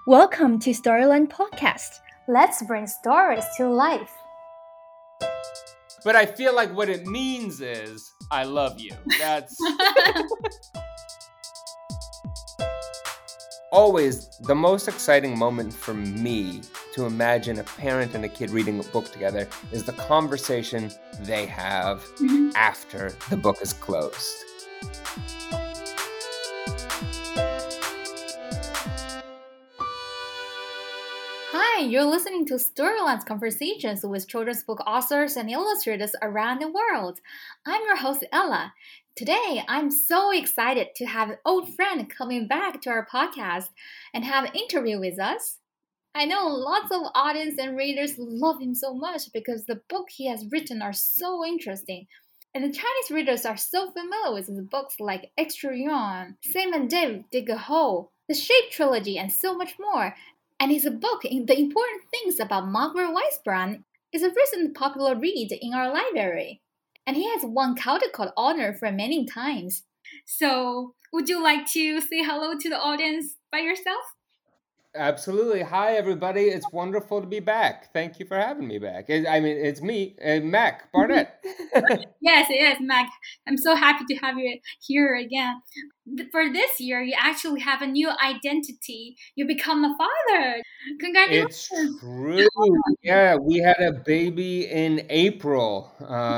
Welcome to Storyland Podcast. Let's bring stories to life. But I feel like what it means is, I love you. That's always the most exciting moment for me to imagine a parent and a kid reading a book together is the conversation they have after the book is closed. Hi, you're listening to Storyland's conversations with children's book authors and illustrators around the world. I'm your host, Ella. Today, I'm so excited to have an old friend coming back to our podcast and have an interview with us. I know lots of audience and readers love him so much because the book he has written are so interesting. And the Chinese readers are so familiar with his books like Extra Yuan, Sam and Dave Dig a Hole, the Shape Trilogy, and so much more. And his book, The Important Things About Margaret Weisbrand, is a recent popular read in our library. And he has won Caldecott honor for many times. So, would you like to say hello to the audience by yourself? Absolutely. Hi, everybody. It's wonderful to be back. Thank you for having me back. It's me, Mac Barnett. Yes, Mac. I'm so happy to have you here again. For this year, you actually have a new identity. You become a father. Congratulations. It's true. Yeah, we had a baby in April.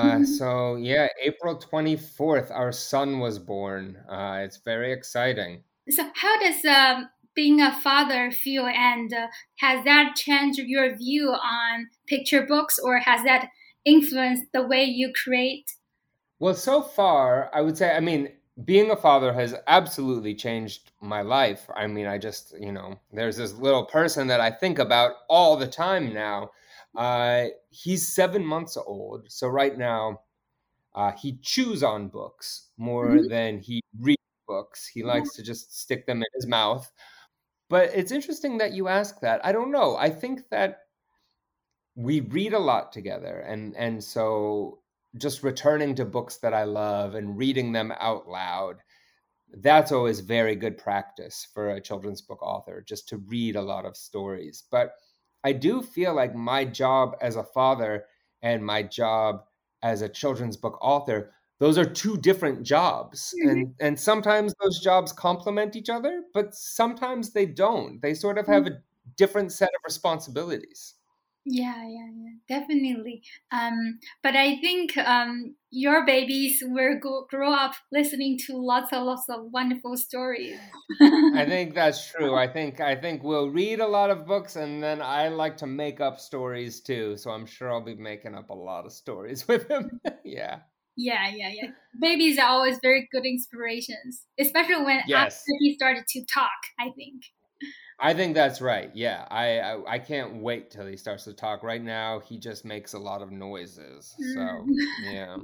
April 24th, our son was born. It's very exciting. So how does being a father feel, and has that changed your view on picture books, or has that influenced the way you create? Well, so far, I would say, being a father has absolutely changed my life. I just, there's this little person that I think about all the time now. He's 7 months old. So right now, he chews on books more than he reads books. He likes to just stick them in his mouth. But it's interesting that you ask that. I don't know. I think that we read a lot together. And so just returning to books that I love and reading them out loud, that's always very good practice for a children's book author, just to read a lot of stories. But I do feel like my job as a father and my job as a children's book author, those are two different jobs. And sometimes those jobs complement each other, but sometimes they don't. They sort of have a different set of responsibilities. Yeah, definitely. But I think your babies will grow up listening to lots of wonderful stories. I think that's true. I think we'll read a lot of books, and then I like to make up stories too. So I'm sure I'll be making up a lot of stories with him. Yeah. Yeah. Babies are always very good inspirations, especially when Yes. after he started to talk, I think. I think that's right. Yeah. I can't wait till he starts to talk. Right now, he just makes a lot of noises. So, yeah.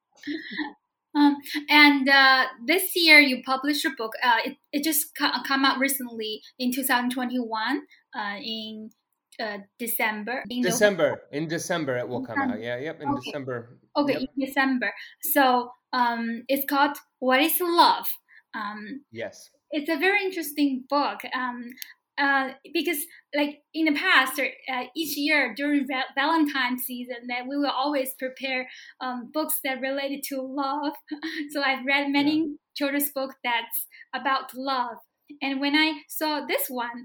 And this year you published a book. It just come out recently in 2021 in December. In December it will come out. Yeah, yep, in December. Okay, Yep. in December. So it's called What is Love? Yes. It's a very interesting book. Because like in the past, each year during Valentine's season, that we will always prepare books that related to love. So I've read many children's books that's about love, and when I saw this one,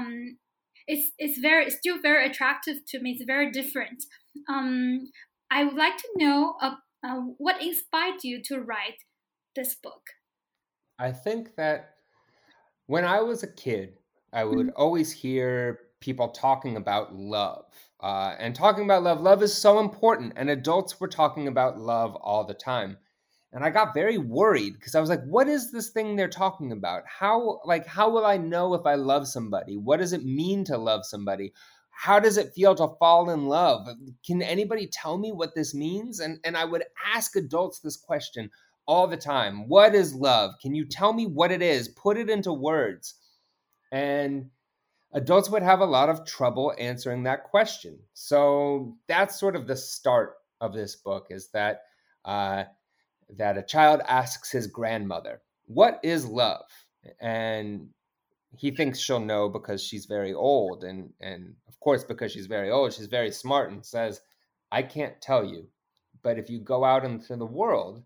it's still very attractive to me. It's very different. I would like to know what inspired you to write this book. I think that when I was a kid, I would always hear people talking about love. And talking about love, love is so important. And adults were talking about love all the time. And I got very worried because I was like, what is this thing they're talking about? How will I know if I love somebody? What does it mean to love somebody? How does it feel to fall in love? Can anybody tell me what this means? And I would ask adults this question all the time. What is love? Can you tell me what it is? Put it into words. And adults would have a lot of trouble answering that question. So that's sort of the start of this book, is that that a child asks his grandmother, "What is love?" And he thinks she'll know because she's very old. And of course, because she's very old, she's very smart and says, I can't tell you. But if you go out into the world,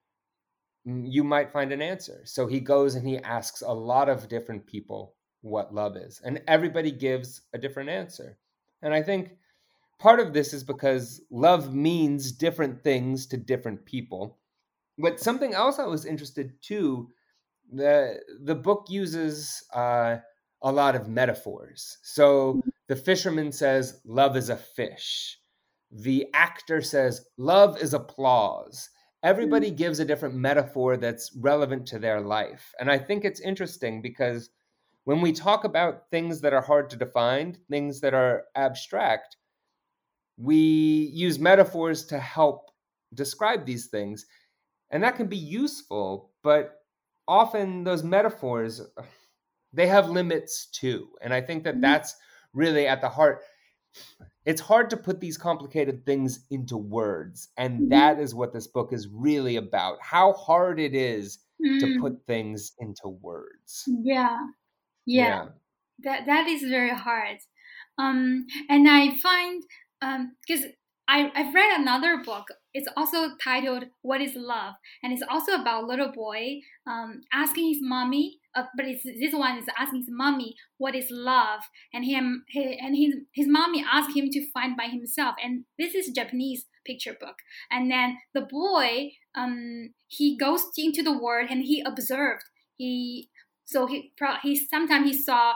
you might find an answer. So he goes and he asks a lot of different people what love is. And everybody gives a different answer. And I think part of this is because love means different things to different people. But something else I was interested too, the book uses a lot of metaphors. So the fisherman says, love is a fish. The actor says, love is applause. Everybody gives a different metaphor that's relevant to their life. And I think it's interesting because when we talk about things that are hard to define, things that are abstract, we use metaphors to help describe these things. And that can be useful, but often those metaphors, they have limits too. And I think that that's really at the heart. It's hard to put these complicated things into words. And that is what this book is really about, how hard it is to put things into words. Yeah. Yeah. That is very hard. And I find because I've read another book. It's also titled "What Is Love," and it's also about a little boy asking his mommy. But this one is asking his mommy what is love, and his mommy asked him to find by himself. And this is a Japanese picture book. And then the boy he goes into the world and he observed. He sometimes he saw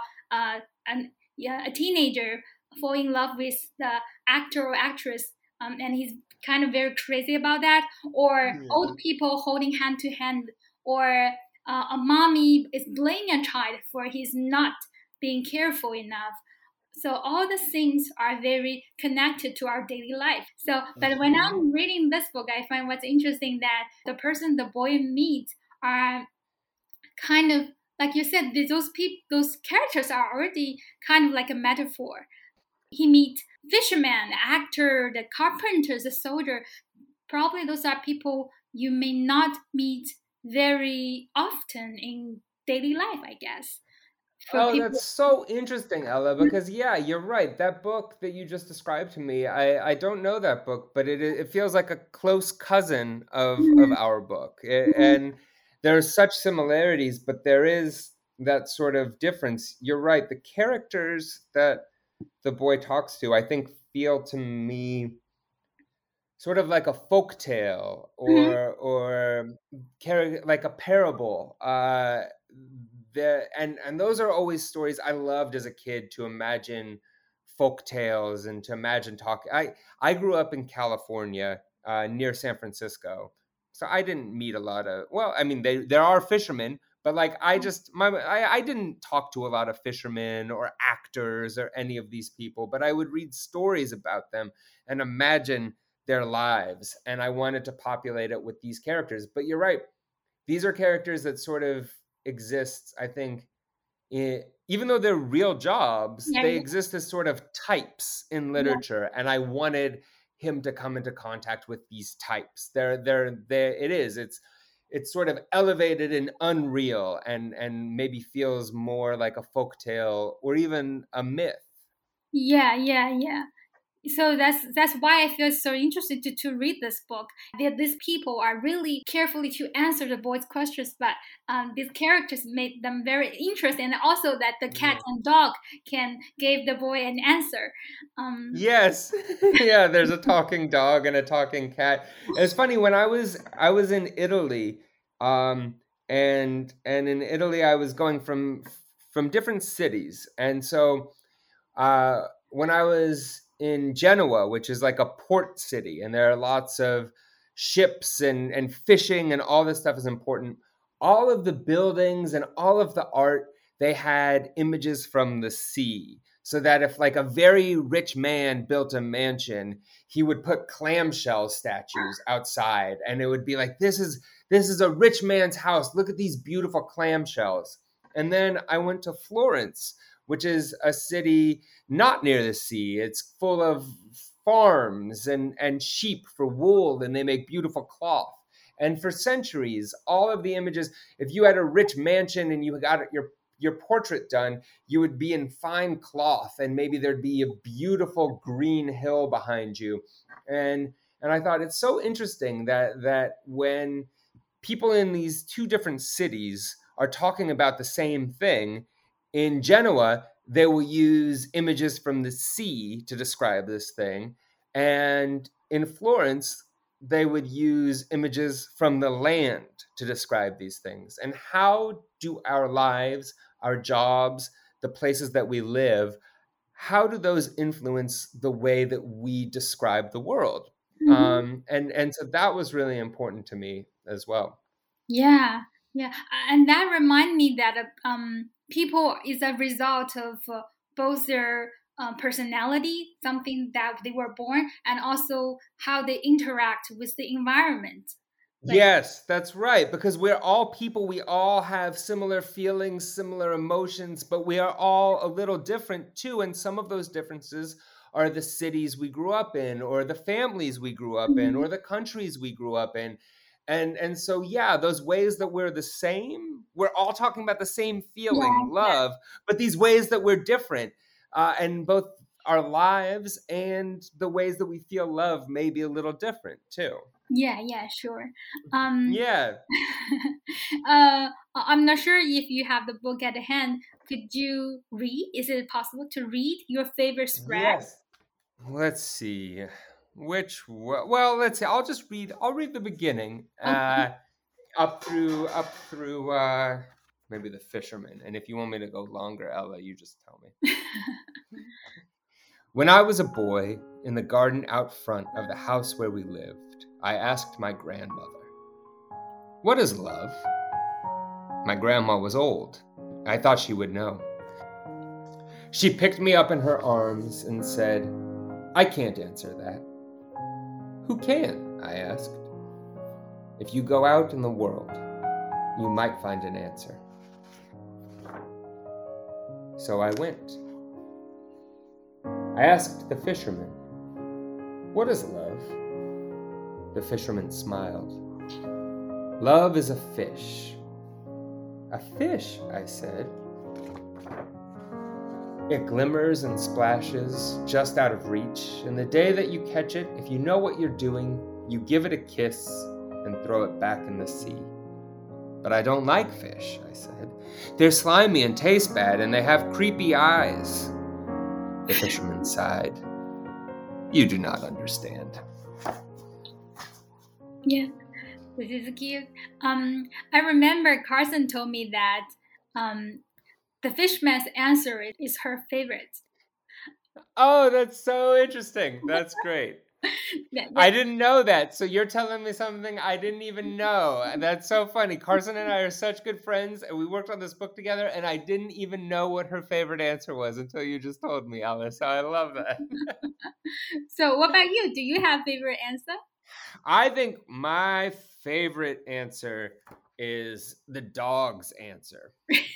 a teenager fall in love with the actor or actress, and he's kind of very crazy about that. Or old people holding hand to hand, or a mommy is blaming a child for he's not being careful enough. So all the things are very connected to our daily life. So, but when I'm reading this book, I find what's interesting that the person the boy meets are kind of, like you said, those characters are already kind of like a metaphor. He meets fisherman, the actor, the carpenter, the soldier. Probably those are people you may not meet very often in daily life, I guess. That's so interesting, Ella, because yeah, you're right. That book that you just described to me, I don't know that book, but it feels like a close cousin of our book. And there's such similarities, but there is that sort of difference. You're right. The characters that the boy talks to, I think, feel to me sort of like a folk tale or like a parable. And those are always stories I loved as a kid, to imagine folk tales and to imagine talking. I grew up in California, near San Francisco, so I didn't meet a lot of. Well, I mean, there are fishermen, but like I didn't talk to a lot of fishermen or actors or any of these people. But I would read stories about them and imagine their lives, and I wanted to populate it with these characters. But you're right; these are characters that sort of exist, I think, even though they're real jobs, they exist as sort of types in literature. And I wanted him to come into contact with these types. It's sort of elevated and unreal, and maybe feels more like a folktale or even a myth. Yeah. So that's why I feel so interested to read this book. These people are really carefully to answer the boy's questions, but these characters made them very interesting, and also that the cat and dog can give the boy an answer. Yes, yeah. There's a talking dog and a talking cat. It's funny, when I was in Italy, and in Italy I was going from different cities, and so when I was in Genoa, which is like a port city, and there are lots of ships and fishing and all this stuff is important. All of the buildings and all of the art, they had images from the sea. So that if like a very rich man built a mansion, he would put clamshell statues outside, and it would be like, this is a rich man's house. Look at these beautiful clamshells. And then I went to Florence, which is a city not near the sea. It's full of farms and sheep for wool, and they make beautiful cloth. And for centuries, all of the images, if you had a rich mansion and you got your portrait done, you would be in fine cloth, and maybe there'd be a beautiful green hill behind you. And I thought it's so interesting that when people in these two different cities are talking about the same thing, in Genoa, they will use images from the sea to describe this thing. And in Florence, they would use images from the land to describe these things. And how do our lives, our jobs, the places that we live, how do those influence the way that we describe the world? And so that was really important to me as well. Yeah, yeah, and that remind me that people is a result of both their personality, something that they were born, and also how they interact with the environment. Yes, that's right. Because we're all people. We all have similar feelings, similar emotions, but we are all a little different too. And some of those differences are the cities we grew up in, or the families we grew up in, or the countries we grew up in. And so, yeah, those ways that we're the same, we're all talking about the same feeling, love, but these ways that we're different, and both our lives and the ways that we feel love may be a little different too. Yeah, sure. Yeah. I'm not sure if you have the book at hand. Could you read? Is it possible to read your favorite spread? Yes. Let's see. Well, let's see. I'll read the beginning, up through maybe the fisherman. And if you want me to go longer, Ella, you just tell me. When I was a boy, in the garden out front of the house where we lived, I asked my grandmother, "What is love?" My grandma was old. I thought she would know. She picked me up in her arms and said, "I can't answer that." "Who can?" I asked. "If you go out in the world, you might find an answer." So I went. I asked the fisherman, "What is love?" The fisherman smiled. "Love is a fish." "A fish?" I said. "It glimmers and splashes just out of reach, and the day that you catch it, if you know what you're doing, you give it a kiss and throw it back in the sea." "But I don't like fish," I said. "They're slimy and taste bad, and they have creepy eyes." The fisherman sighed. "You do not understand." Yeah, this is cute. I remember Carson told me that the fishman's answer is her favorite. Oh, that's so interesting. That's great. I didn't know that. So you're telling me something I didn't even know. That's so funny. Carson and I are such good friends, and we worked on this book together, and I didn't even know what her favorite answer was until you just told me, Alice. So I love that. So what about you? Do you have favorite answer? I think my favorite answer is the dog's answer.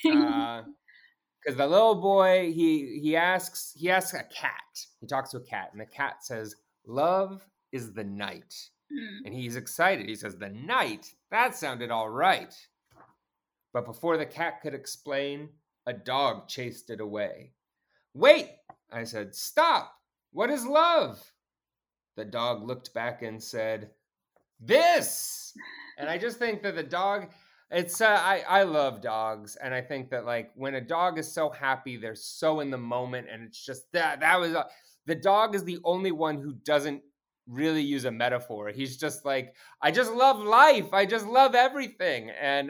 Because the little boy, he asks a cat. He talks to a cat, and the cat says, "Love is the night." And he's excited. He says, "The night? That sounded all right." But before the cat could explain, a dog chased it away. "Wait," I said, "stop. What is love?" The dog looked back and said, "This." And I just think that the dog, it's I love dogs, and I think that like when a dog is so happy, they're so in the moment, and it's just that was the dog is the only one who doesn't really use a metaphor. He's just like, "I just love life. I just love everything." And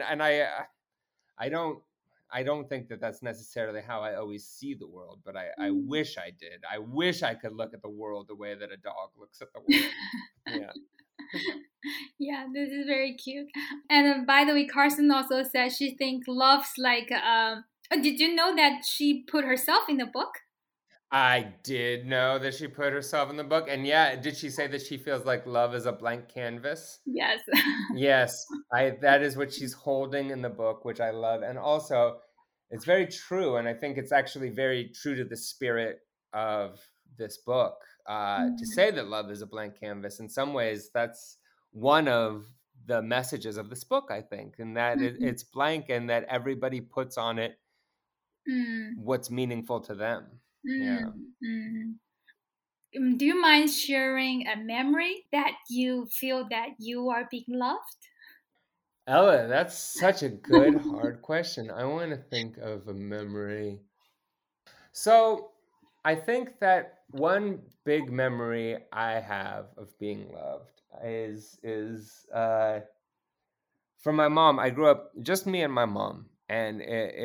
I don't think that that's necessarily how I always see the world, but I wish I did. I wish I could look at the world the way that a dog looks at the world. Yeah. Yeah, this is very cute. And by the way, Carson also says she thinks love's like. Did you know that she put herself in the book? I did know that she put herself in the book. And yeah, did she say that she feels like love is a blank canvas? Yes. Yes, that is what she's holding in the book, which I love. And also, it's very true. And I think it's actually very true to the spirit of this book, to say that love is a blank canvas. In some ways, that's one of the messages of this book, I think, and that it's blank, and that everybody puts on it Mm, what's meaningful to them. mm, Yeah. mm. Do you mind sharing a memory that you feel that you are being loved? Ella, that's such a good, hard question. I want to think of a memory. So I think that one big memory I have of being loved is from my mom. I grew up just me and my mom, and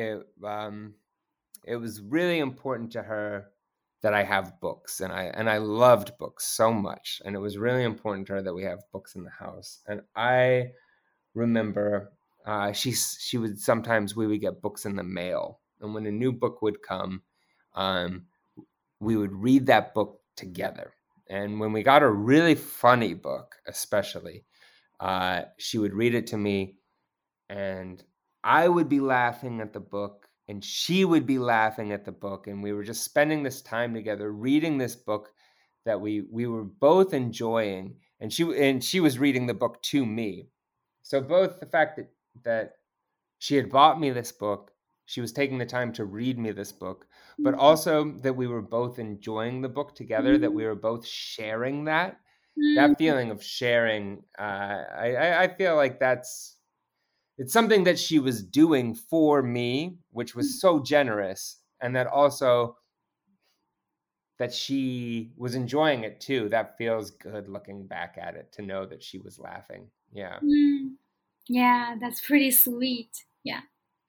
it was really important to her that I have books, and I loved books so much, and it was really important to her that we have books in the house. And I remember she would sometimes we would get books in the mail, and when a new book would come, um, we would read that book together. And when we got a really funny book, especially, she would read it to me, and I would be laughing at the book, and she would be laughing at the book, and we were just spending this time together reading this book that we were both enjoying, and she was reading the book to me. So both the fact that she had bought me this book, she was taking the time to read me this book, but also that we were both enjoying the book together, that we were both sharing that Mm, feeling of sharing. I feel like it's something that she was doing for me, which was so generous, and that also that she was enjoying it too. That feels good looking back at it, to know that she was laughing. Yeah. mm. Yeah, that's pretty sweet. Yeah.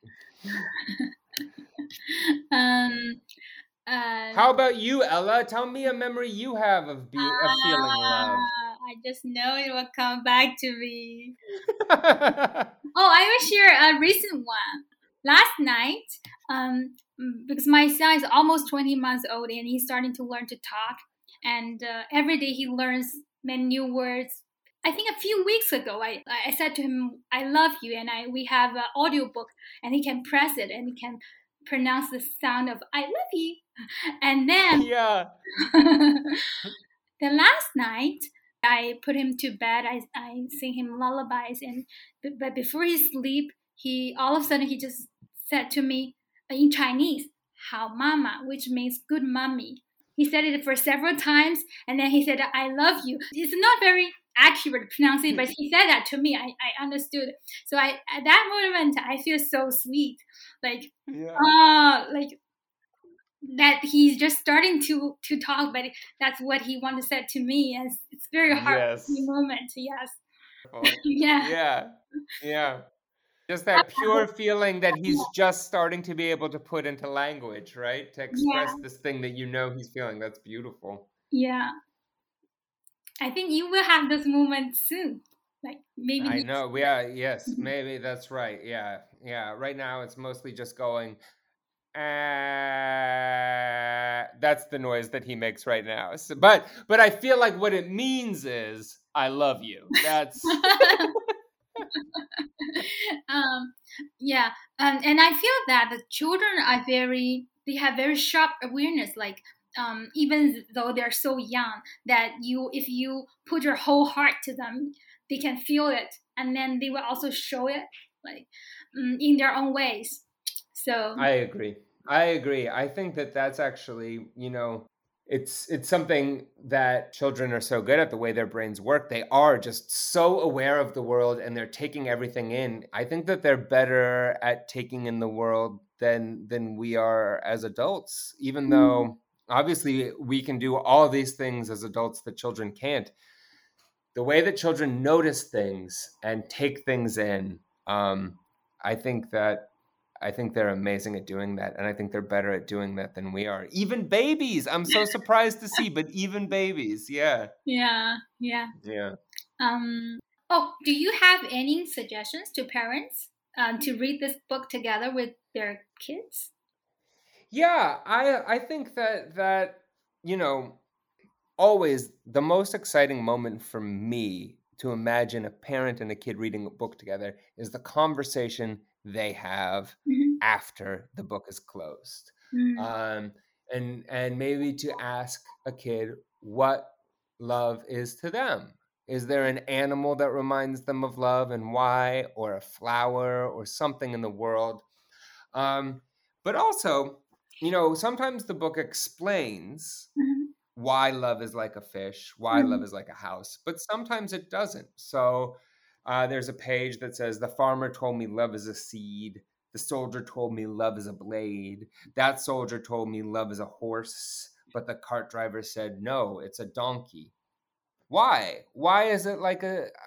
Um, uh, How about you, Ella? Tell me a memory you have of feeling love. I just know it will come back to me. Oh, I will share a recent one. Last night, because my son is almost 20 months old and he's starting to learn to talk, and every day he learns many new words. I think a few weeks ago, I said to him, "I love you," and we have an audiobook, and he can press it and he can pronounce the sound of "I love you," and then Yeah. the last night, I put him to bed. I sing him lullabies, and but before he sleep, he all of a sudden he just said to me in Chinese, "Hao mama," which means good mommy. He said it for several times, and then he said, "I love you." It's not very accurate pronunciation, but he said that to me. I understood. So at that moment I feel so sweet, like Yeah. like that he's just starting to talk, but that's what he wanted to say to me, and it's very heartwarming Yes. moment. Yes. Wonderful. Yeah. Yeah. Yeah. Just that pure feeling that he's just starting to be able to put into language, right? To Yeah. express this thing that you know he's feeling. That's beautiful. Yeah. I think you will have this moment soon, like maybe I next know. year. Yeah, yes, maybe that's right. Yeah. Yeah. Right now it's mostly just going, that's the noise that he makes right now. So, but I feel like what it means is I love you. That's um, yeah, and I feel that the children are they have very sharp awareness, like even though they're so young, that if you put your whole heart to them, they can feel it, and then they will also show it, like in their own ways. So I agree. I agree. I think that that's actually, it's something that children are so good at, the way their brains work. They are just so aware of the world, and they're taking everything in. I think that they're better at taking in the world than we are as adults, even though obviously we can do all these things as adults that children can't. The way that children notice things and take things in, I think that I think they're amazing at doing that, and I think they're better at doing that than we are. Even babies, I'm so surprised to see, but even babies, yeah, yeah, yeah. yeah, Um, oh, do you have any suggestions to parents to read this book together with their kids? yeah. I think that you know always the most exciting moment for me to imagine a parent and a kid reading a book together is the conversation they have Mhm. after the book is closed. Mm, um, and maybe to ask a kid what love is to them. Is there an animal that reminds them of love and why, or a flower, or something in the world? um, But also, sometimes the book explains Mhm. why love is like a fish, why love Mhm. is like a house, but sometimes it doesn't. So there's a page that says, "The farmer told me love is a seed. The soldier told me love is a blade. That soldier told me love is a horse. But the cart driver said, no, it's a donkey." Why? Why is it like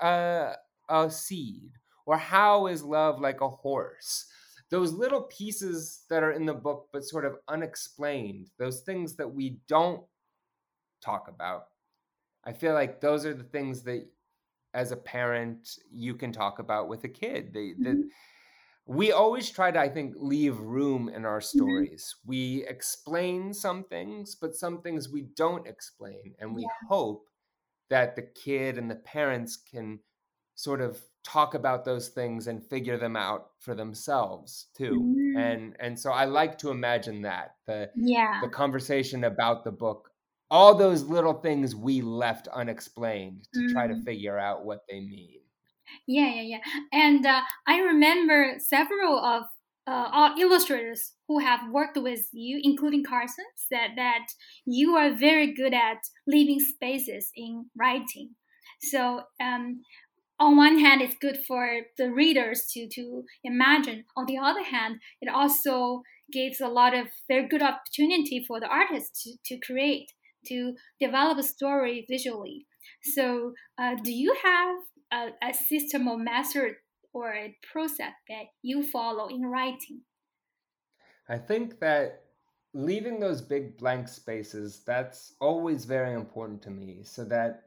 a seed? Or how is love like a horse? Those little pieces that are in the book, but sort of unexplained, those things that we don't talk about. I feel like those are the things that, as a parent, you can talk about with a kid. Mhm. We always try to, I think, leave room in our Mhm. stories. We explain some things, but some things we don't explain. And we Yeah. hope that the kid and the parents can sort of talk about those things and figure them out for themselves too. Mm. And so I like to imagine that the Yeah. conversation about the book, all those little things we left unexplained to try to Mm. figure out what they mean. Yeah. And I remember several of illustrators who have worked with you, including Carson, said that you are very good at leaving spaces in writing. So on one hand, it's good for the readers to imagine. On the other hand, it also gives a lot of very good opportunity for the artist to create, to develop a story visually. So, do you have a system or method or a process that you follow in writing? I think that leaving those big blank spaces, that's always very important to me, so that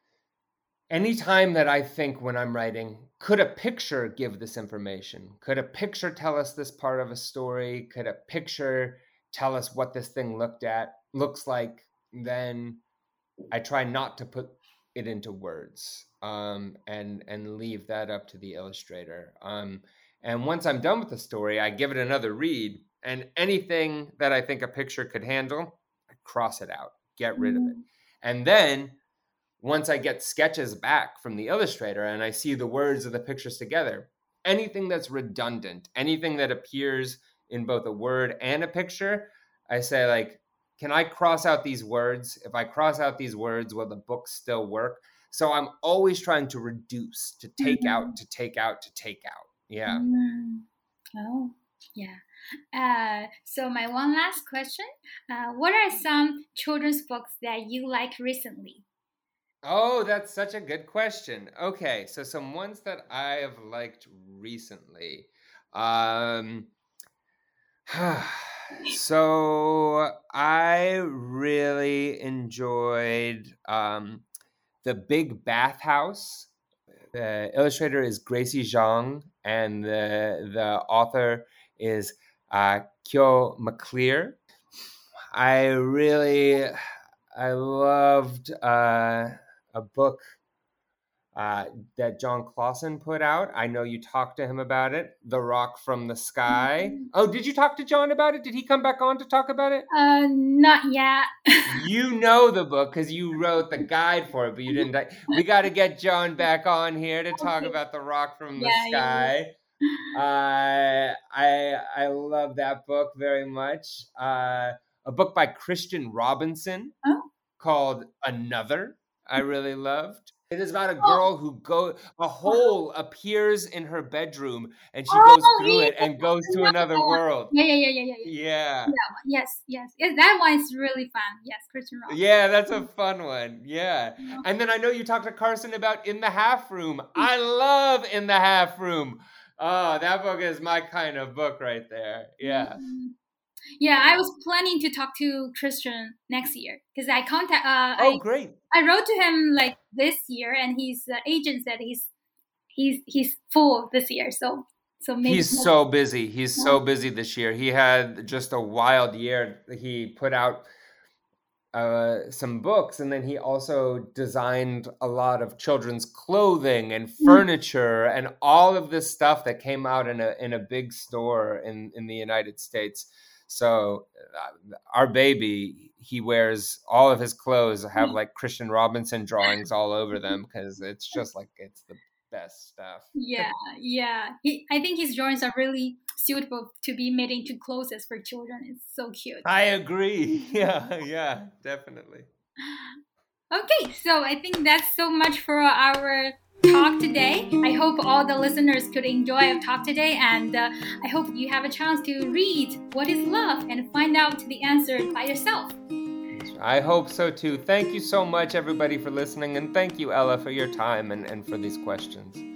anytime that I think when I'm writing, could a picture give this information? Could a picture tell us this part of a story? Could a picture tell us what this thing looks like? Then I try not to put it into words, and leave that up to the illustrator. And once I'm done with the story, I give it another read, and anything that I think a picture could handle, I cross it out, get rid of it. Mm. And then once I get sketches back from the illustrator and I see the words of the pictures together, anything that's redundant, anything that appears in both a word and a picture, I say, like, can I cross out these words? If I cross out these words, will the book still work? So I'm always trying to reduce, to take out, Mhm. to take out, to take out. Yeah. Mm. Oh, yeah. So my one last question: what are some children's books that you like recently? Oh, that's such a good question. Okay, so some ones that I have liked recently. Um, So I really enjoyed The Big Bathhouse. The illustrator is Gracie Zhang, and the author is Kyo McClear. I loved a book that John Clausen put out. I know you talked to him about it, The Rock from the Sky. Oh, did you talk to John about it? Did he come back on to talk about it? Not yet. You know the book because you wrote the guide for it, but you didn't. We got to get John back on here to talk Okay. about The Rock from the Yeah. Sky. I love that book very much. A book by Christian Robinson Oh, called Another, I really loved. It is about a oh, girl a oh, hole appears in her bedroom and she goes oh, through yeah, it and goes to another another one. world. Yeah. Yeah. Yeah, yes. That one is really fun. Yes, Christian Rock. Yeah, that's a fun one. Yeah. And then I know you talked to Carson about In the Half Room. I love In the Half Room. Oh, that book is my kind of book right there. Yeah. Mhm. Yeah, I was planning to talk to Christian next year because Oh, great. I wrote to him like this year, and his agent said he's full this year, so maybe He's next so busy. He's year. so busy this year. He had just a wild year. He put out some books, and then he also designed a lot of children's clothing and Mm. furniture and all of this stuff that came out in a big store in the United States. So our baby, he wears all of his clothes have like Christian Robinson drawings all over them because it's just like it's the best stuff. Yeah, yeah. I think his drawings are really suitable to be made into clothes for children. It's so cute. I agree. Yeah, definitely. Okay, so I think that's so much for our talk today. I hope all the listeners could enjoy our talk today, and I hope you have a chance to read What is Love and find out the answer by yourself. I hope so too. Thank you so much, everybody, for listening, and thank you, Ella, for your time and for these questions.